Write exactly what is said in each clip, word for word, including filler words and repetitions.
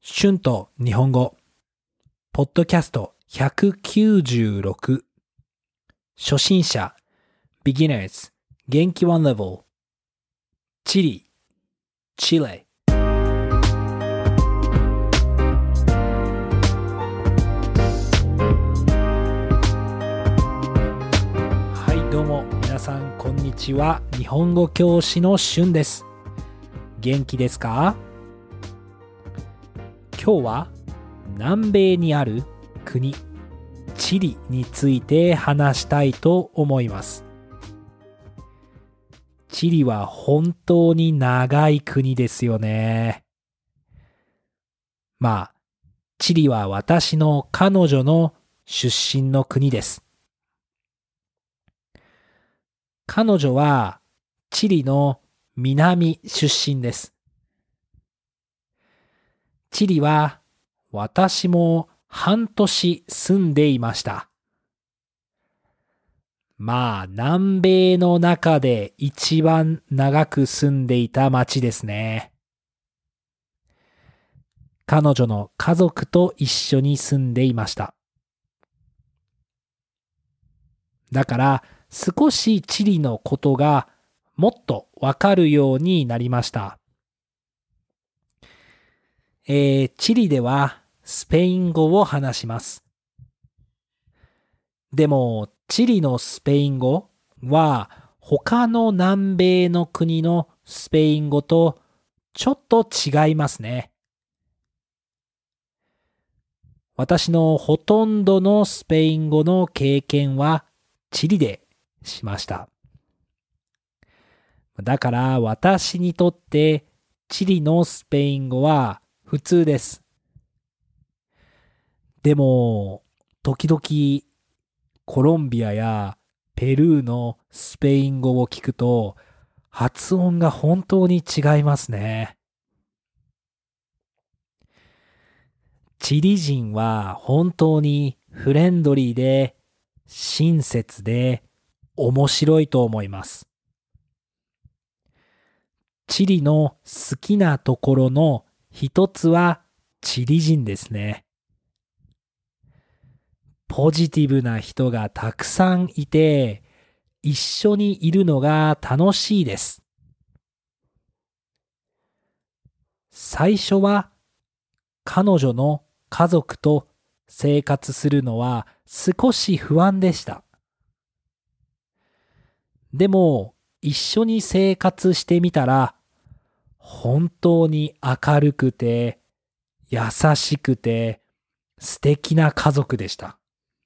春と日本語ポッドキャストひゃくきゅうじゅうろく初心者 Beginners 元気ワンレベルチリチレはいどうも皆さんこんにちは。日本語教師の春です。元気ですか？今日は南米にある国チリについて話したいと思います。チリは本当に長い国ですよね。まあ、チリは私の彼女の出身の国です。彼女はチリの南出身です。チリは私も半年住んでいました。まあ南米の中で一番長く住んでいた町ですね。彼女の家族と一緒に住んでいました。だから少しチリのことがもっとわかるようになりました。えー、チリではスペイン語を話します。でも、チリのスペイン語は他の南米の国のスペイン語とちょっと違いますね。私のほとんどのスペイン語の経験はチリでしました。だから私にとってチリのスペイン語は普通です。でも、時々コロンビアやペルーのスペイン語を聞くと発音が本当に違いますね。チリ人は本当にフレンドリーで親切で面白いと思います。チリの好きなところの一つはチリ人ですね。ポジティブな人がたくさんいて、一緒にいるのが楽しいです。最初は彼女の家族と生活するのは少し不安でした。でも一緒に生活してみたら本当に明るくて優しくて素敵な家族でした。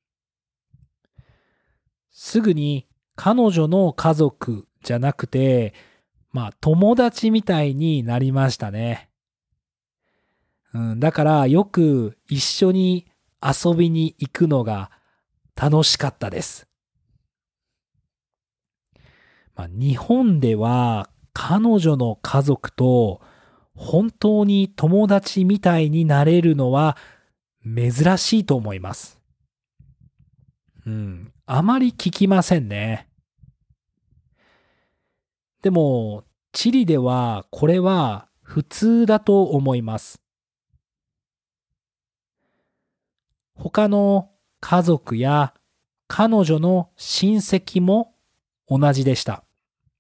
すぐに彼女の家族じゃなくて、まあ友達みたいになりましたね。うん、だからよく一緒に遊びに行くのが楽しかったです。まあ、日本では彼女の家族と本当に友達みたいになれるのは珍しいと思います。うん、あまり聞きませんね。でも、チリではこれは普通だと思います。他の家族や彼女の親戚も同じでした。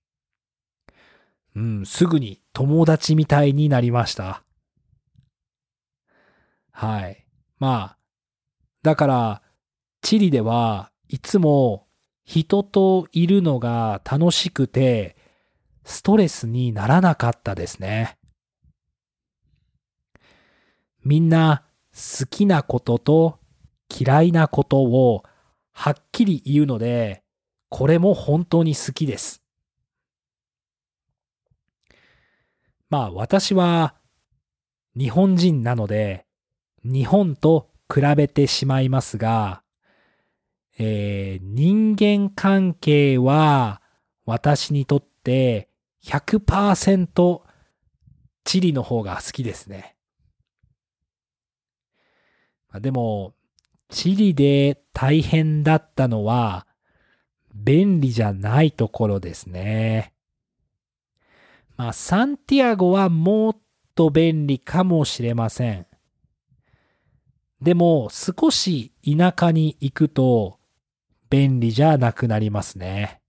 うん、すぐに友達みたいになりました。はい。まあ、だから、チリではいつも人といるのが楽しくて、ストレスにならなかったですね。みんな好きなことと嫌いなことをはっきり言うので、これも本当に好きです。まあ私は日本人なので日本と比べてしまいますが、えー、人間関係は私にとってひゃくパーセントチリの方が好きですね。でもチリで大変だったのは便利じゃないところですね。まあサンティアゴはもっと便利かもしれません。 でも少し田舎に行くと便利じゃなくなりますね。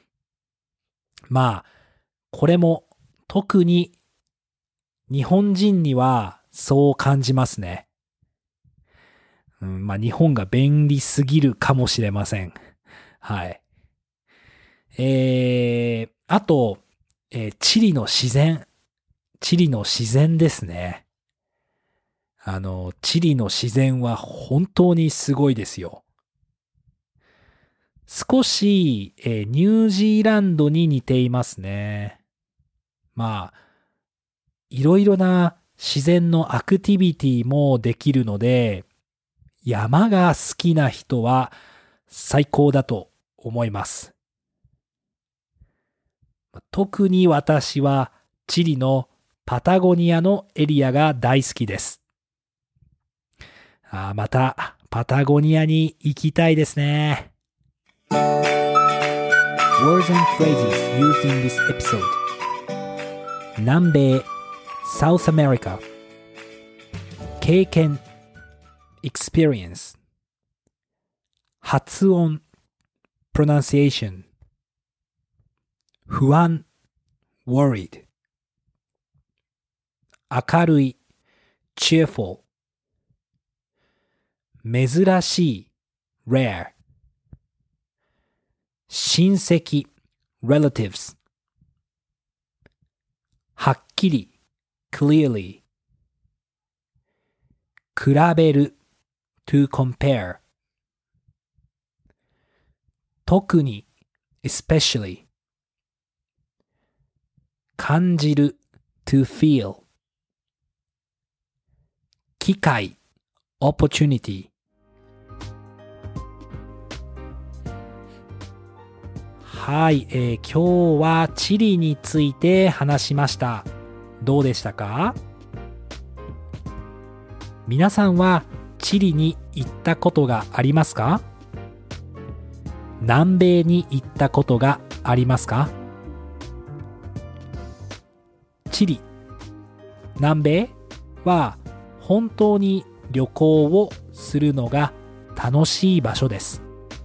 まあ、これも特に日本人にはそう感じますね。うん、まあ日本が便利すぎるかもしれません。はい。えー、あと、えー、チリの自然。チリの自然ですね。あの、チリの自然は本当にすごいですよ。少し、えー、ニュージーランドに似ていますね。まあ、いろいろな自然のアクティビティもできるので、山が好きな人は最高だと思います。特に私はチリのパタゴニアのエリアが大好きです。あ、またパタゴニアに行きたいですね。Words and phrases used in this episode. 南米 South America 経験 Experience 発音 Pronunciation 不安 Worried 明るい Cheerful 珍しい Rare 親戚 Relatives はっきり Clearly 比べる To compare 特に Especially 感じる To feel 機会 Opportunity。 はい、えー、今日はチリについて話しました。どうでしたか？皆さんはチリに行ったことがありますか？南米に行ったことがありますか？チリ、南米は本当に旅行をするのが楽しい場所です。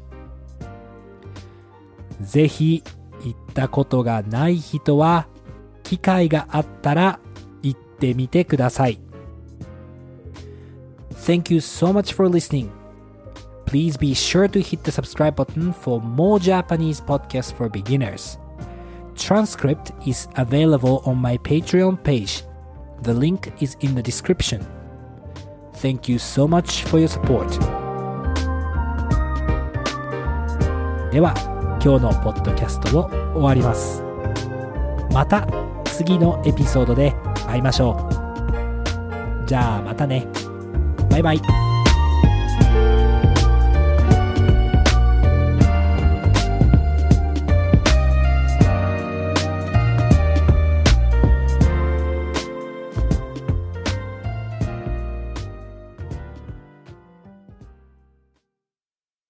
ぜひ行ったことがない人は機会があったら行ってみてください。Thank you so much for listening. Please be sure to hit the subscribe button for more Japanese podcasts for beginners. Transcript is available on my Patreon page. The link is in the description. Thank you so much for your support. では、今日のポッドキャストを終わります。また次のエピソードで会いましょう。じゃあまたね。バイバイ。